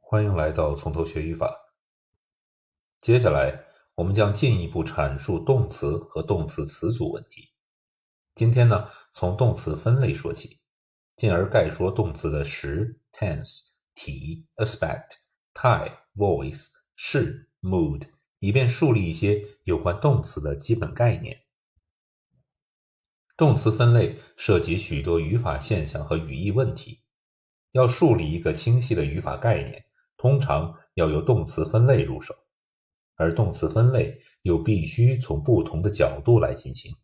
欢迎来到从头学语法。接下来，我们将进一步阐述动词和动词词组问题。今天呢，从动词分类说起，进而概说动词的时 tense、体 aspect、态 voice、式 mood，以便树立一些有关动词的基本概念。动词分类涉及许多语法现象和语义问题。要树立一个清晰的语法概念，通常要由动词分类入手，而动词分类又必须从不同的角度来进行。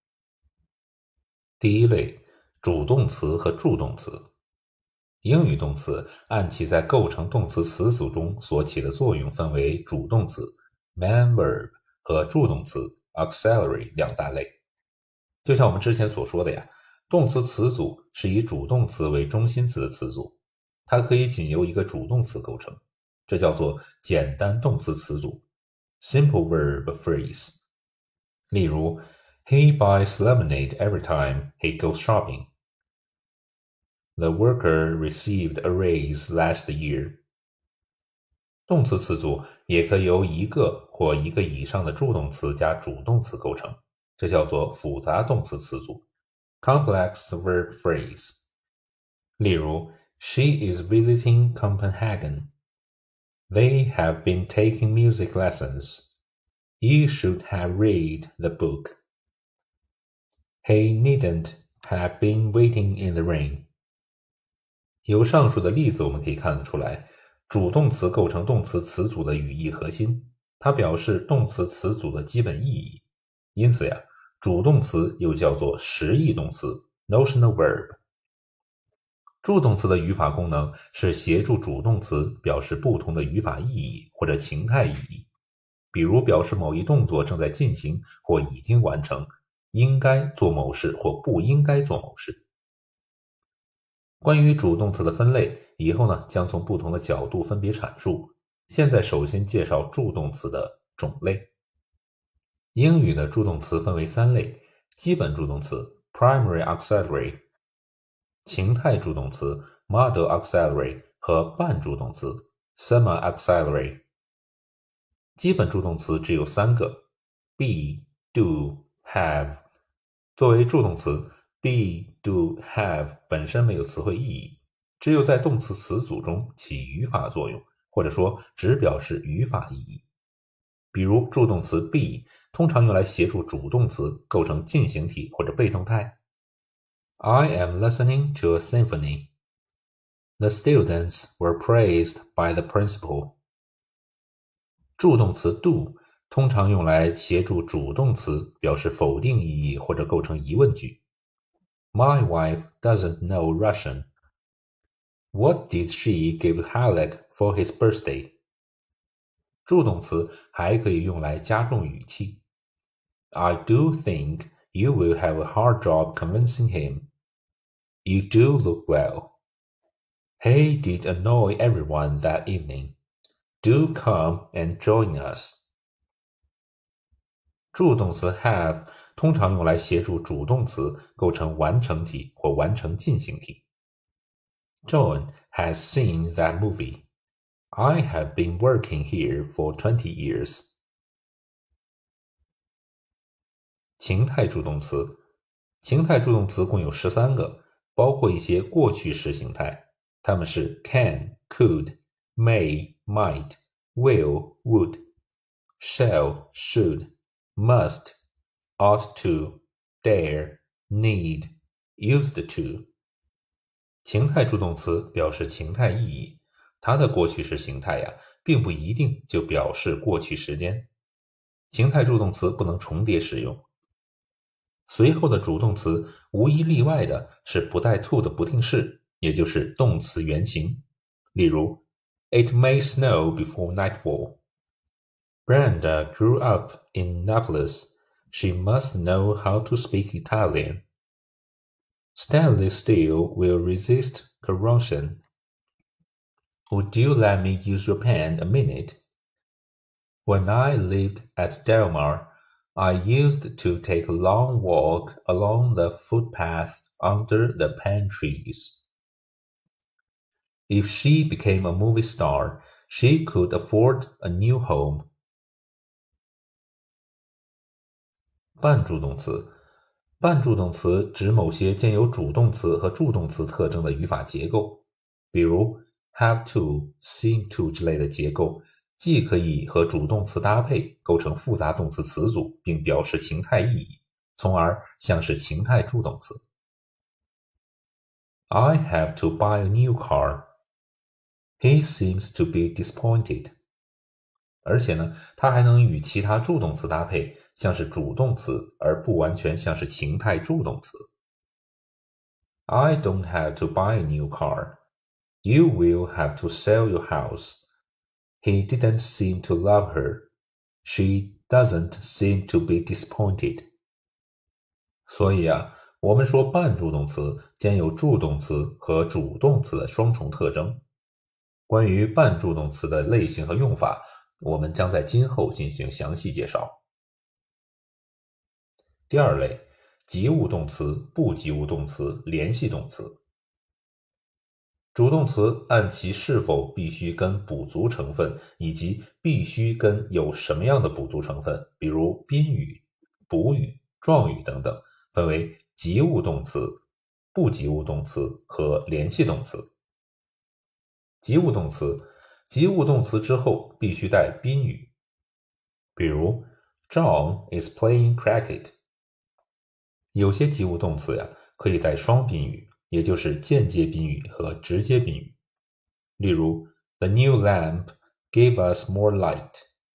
第一类，主动词和助动词。英语动词按其在构成动词词组中所起的作用分为主动词 main verb 和助动词 auxiliary 两大类。就像我们之前所说的呀，动词词组是以主动词为中心词的词组，它可以仅由一个主动词构成，这叫做简单动词词组 simple verb phrase。例如 He buys lemonade every time he goes shopping. The worker received a raise last year. 动词词组也可由一个或一个以上的助动词加主动词构成，这叫做复杂动词词组 complex verb phrase。例如 She is visiting Copenhagen. They have been taking music lessons. You should have read the book. He needn't have been waiting in the rain. 由上述的例子我们可以看得出来，主动词构成动词词组的语义核心，它表示动词词组的基本意义。因此呀，主动词又叫做实义动词 notional verb。助动词的语法功能是协助主动词表示不同的语法意义或者情态意义，比如表示某一动作正在进行或已经完成，应该做某事或不应该做某事。关于主动词的分类，以后呢将从不同的角度分别阐述。现在首先介绍助动词的种类。英语的助动词分为三类：基本助动词 primary auxiliary、情态助动词 model auxiliary 和半助动词 semi auxiliary。基本助动词只有三个 be、do、have。作为助动词 be、do、have 本身没有词汇意义，只有在动词词组中起语法作用，或者说只表示语法意义。比如助动词 be 通常用来协助主动词构成进行体或者被动态。I am listening to a symphony. The students were praised by the principal. 助动词 do 通常用来协助主动词表示否定意义或者构成疑问句。My wife doesn't know Russian. What did she give Halleck for his birthday? 助动词还可以用来加重语气。I do think you will have a hard job convincing him. You do look well. He did annoy everyone that evening. Do come and join us. 助动词 have 通常用来协助主动词构成完成体或完成进行体。John has seen that movie. I have been working here for 20 years. 情态助动词，情态助动词共有13个，包括一些过去时形态，它们是 can, could, may, might, will, would, shall, should, must, ought to, dare, need, used to。情态助动词表示情态意义，它的过去时形态呀，并不一定就表示过去时间。情态助动词不能重叠使用。随后的主动词无一例外的是不带 to 的不定式，也就是动词原形。例如 It may snow before nightfall. Brenda grew up in Naples. She must know how to speak Italian. Stainless steel will resist corrosion. Would you let me use your pen a minute? When I lived at Del Mar, I used to take a long walk along the footpath under the pine trees. If she became a movie star, she could afford a new home. 半助动词，半助动词指某些兼有主动词和助动词特征的语法结构，比如 have to, seem to 之类的结构，既可以和主动词搭配，构成复杂动词词组，并表示情态意义，从而像是情态助动词。I have to buy a new car. He seems to be disappointed. 而且呢，它还能与其他助动词搭配，像是主动词，而不完全像是情态助动词。I don't have to buy a new car. You will have to sell your house. He didn't seem to love her. She doesn't seem to be disappointed. 所以啊，我们说半助动词兼有助动词和主动词的双重特征。关于半助动词的类型和用法，我们将在今后进行详细介绍。第二类，及物动词、不及物动词、联系动词。主动词按其是否必须跟补足成分，以及必须跟有什么样的补足成分，比如宾语、补语、状语等等，分为及物动词、不及物动词和联系动词。及物动词，及物动词之后必须带宾语，比如 John is playing cricket。有些及物动词呀，可以带双宾语，也就是间接宾语和直接宾语。例如 The new lamp gave us more light。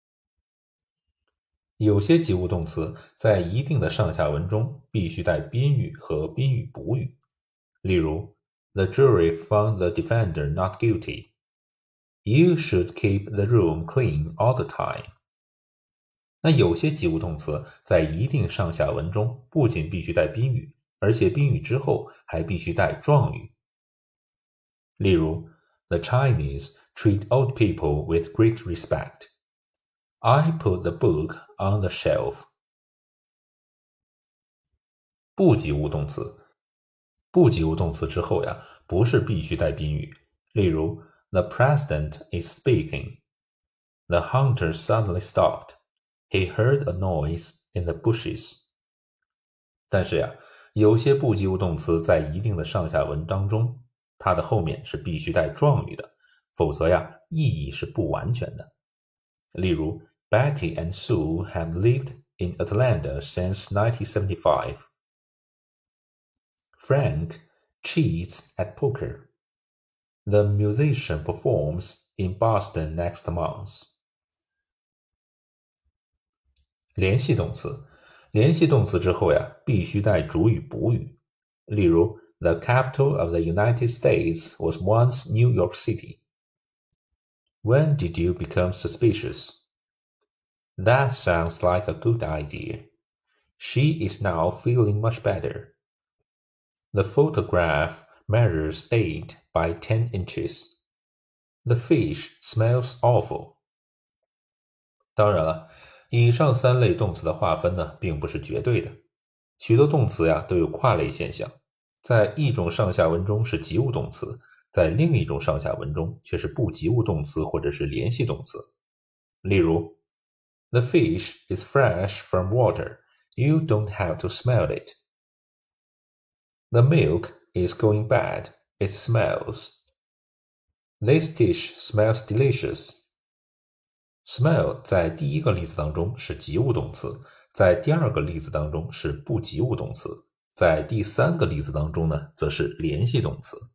有些及物动词在一定的上下文中必须带宾语和宾语补语。例如 The jury found the defendant not guilty. You should keep the room clean all the time. 那有些及物动词在一定上下文中不仅必须带宾语，而且宾语之后还必须带状语。例如 The Chinese treat old people with great respect. I put the book on the shelf. 不及物动词，不及物动词之后呀，不是必须带宾语。例如 The president is speaking. The hunter suddenly stopped. He heard a noise in the bushes. 但是呀，有些不及物动词在一定的上下文当中，它的后面是必须带状语的，否则呀，意义是不完全的。例如 Betty and Sue have lived in Atlanta since 1975. Frank cheats at poker. The musician performs in Boston next month. 联系动词，联系动词之后呀，必须带主语补语。例如 The capital of the United States was once New York City. When did you become suspicious? That sounds like a good idea. She is now feeling much better. The photograph measures 8 by 10 inches. The fish smells awful. 当然了，以上三类动词的划分呢，并不是绝对的。许多动词呀都有跨类现象，在一种上下文中是及物动词，在另一种上下文中却是不及物动词或者是联系动词。例如 The fish is fresh from water. You don't have to smell it. The milk is going bad. It smells. This dish smells delicious. Smell 在第一个例子当中是及物动词，在第二个例子当中是不及物动词，在第三个例子当中呢，则是联系动词。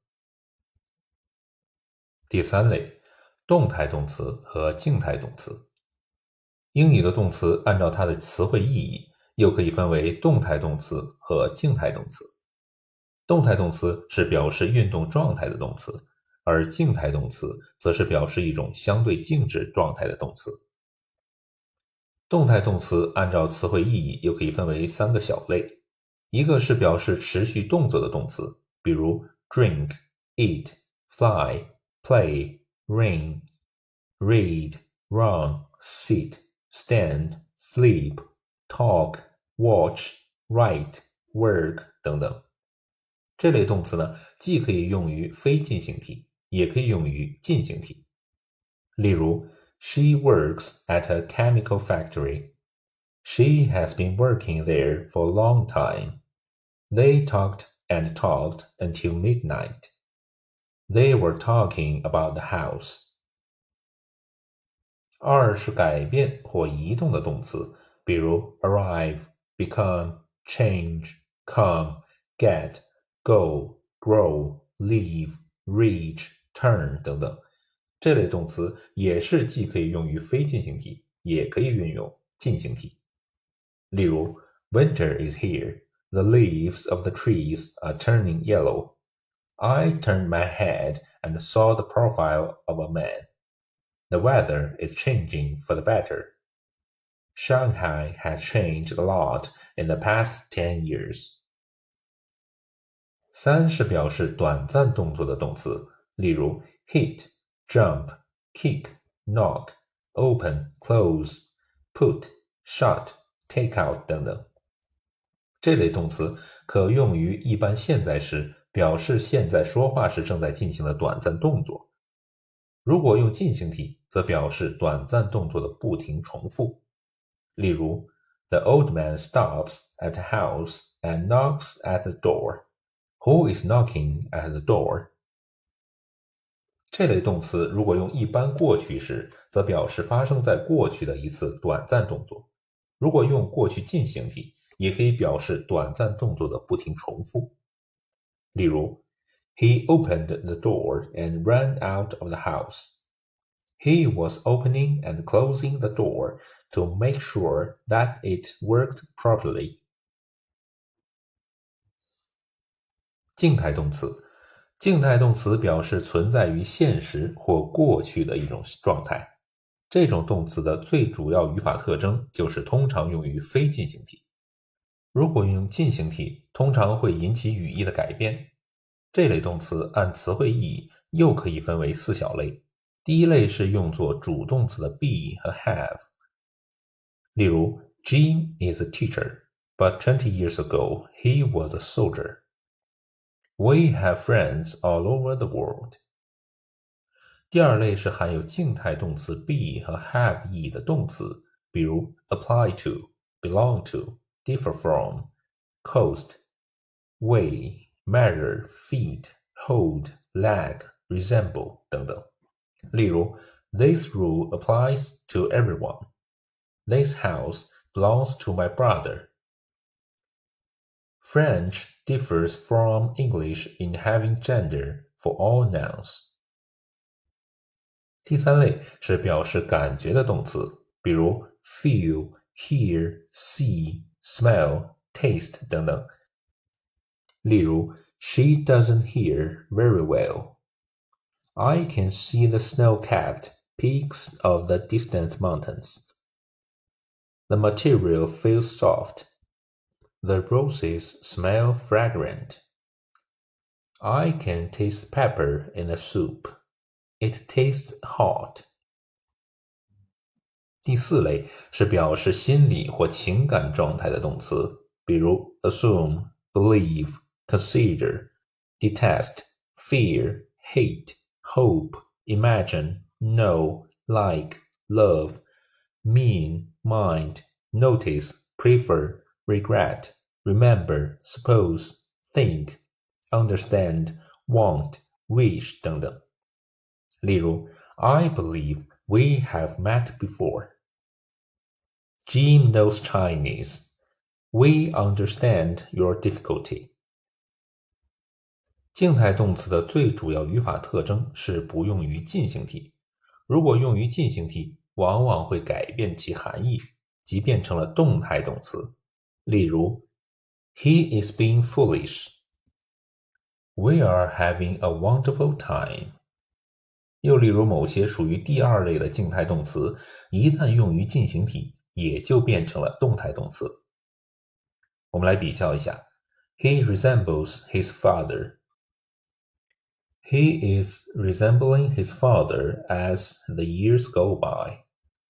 第三类，动态动词和静态动词。英语的动词按照它的词汇意义，又可以分为动态动词和静态动词。动态动词是表示运动状态的动词，而静态动词则是表示一种相对静止状态的动词。动态动词按照词汇意义又可以分为三个小类，一个是表示持续动作的动词，比如 drink, eat, fly, play, rain, read, run, sit, stand, sleep, talk, watch, write, work 等等。这类动词呢，既可以用于非进行体， 也可以用于进行体。例如 She works at a chemical factory. She has been working there for a long time. They talked and talked until midnight. They were talking about the house. 二是改变或移动的动词，比如 arrive, become, change, come, get, go, grow, leave, reach, turn 等等。这类动词也是既可以用于非进行体，也可以运用进行体。例如 Winter is here. The leaves of the trees are turning yellow. I turned my head and saw the profile of a man. The weather is changing for the better. Shanghai has changed a lot in the past 10 years. 三是表示短暂动作的动词，例如 hit, jump, kick, knock, open, close, put, shut, take out 等等。这类动词可用于一般现在时，表示现在说话时正在进行的短暂动作。如果用进行体，则表示短暂动作的不停重复。例如 The old man stops at a house and knocks at the door. Who is knocking at the door? 这类动词如果用一般过去时，则表示发生在过去的一次短暂动作。如果用过去进行体，也可以表示短暂动作的不停重复。例如 He opened the door and ran out of the house. He was opening and closing the door to make sure that it worked properly. 静态动词，静态动词表示存在于现实或过去的一种状态。这种动词的最主要语法特征就是通常用于非进行体。如果用进行体，通常会引起语义的改变。这类动词按词汇意义又可以分为4小类。第一类是用作主动词的 be 和 have。例如 Jim is a teacher, but 20 years ago he was a soldier. We have friends all over the world. 第二类是含有静态动词 be 和 have 意义的动词，比如 apply to, belong to, differ from, coast, weigh, measure, feed, hold, lag, resemble 等等。例如 This rule applies to everyone. This house belongs to my brother. French differs from English in having gender for all nouns. 第三类是表示感觉的动词，比如 feel, hear, see, smell, taste 等等。例如 She doesn't hear very well. I can see the snow-capped peaks of the distant mountains. The material feels soft. The roses smell fragrant. I can taste pepper in the soup. It tastes hot. 第四类是表示心理或情感状态的动词，比如 assume, believe, consider, detest, fear, hate, hope, imagine, know, like, love, mean, mind, notice, prefer, regret, remember, suppose, think, understand, want, wish 等等。例如 I believe we have met before. Jim knows Chinese. We understand your difficulty. 静态动词的最主要语法特征是不用于进行体。如果用于进行体，往往会改变其含义，即变成了动态动词。例如 He is being foolish. We are having a wonderful time. 又例如某些属于第二类的静态动词，一旦用于进行体，也就变成了动态动词。我们来比较一下 He resembles his father. He is resembling his father as the years go by.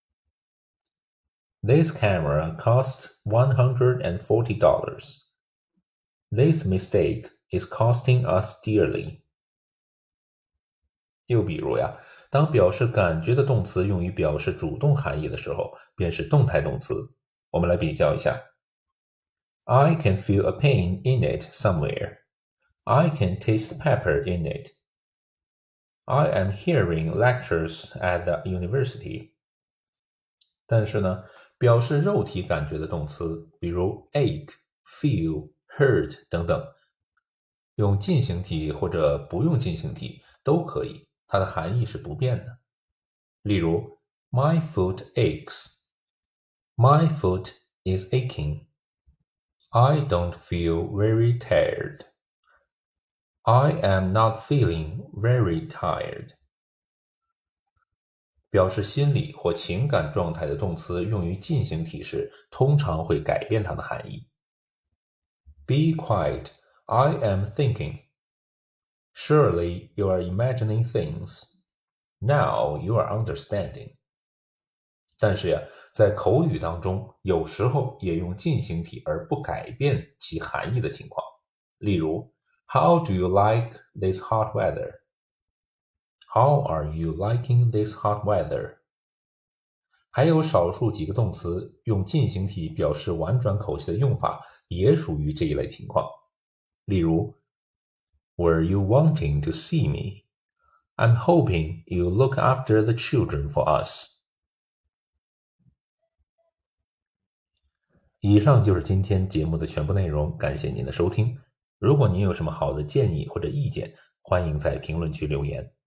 This camera costs $140. This mistake is costing us dearly. 又比如呀，当表示感觉的动词用于表示主动含义的时候，便是动态动词。我们来比较一下 ：I can feel a pain in it somewhere. I can taste pepper in it. I am hearing lectures at the university. 但是呢，表示肉体感觉的动词，比如 ache、feel、hurt 等等，用进行体或者不用进行体都可以，它的含义是不变的。例如 My foot aches. My foot is aching. I don't feel very tired. I am not feeling very tired. 表示心理或情感状态的动词用于进行体时，通常会改变它的含义。Be quiet, I am thinking. Surely you are imagining things. Now you are understanding. 但是呀，在口语当中，有时候也用进行体而不改变其含义的情况。例如 How do you like this hot weather? How are you liking this hot weather? 还有少数几个动词用进行体表示婉转口气的用法，也属于这一类情况。例如 Were you wanting to see me? I'm hoping you look after the children for us. 以上就是今天节目的全部内容，感谢您的收听。如果您有什么好的建议或者意见，欢迎在评论区留言。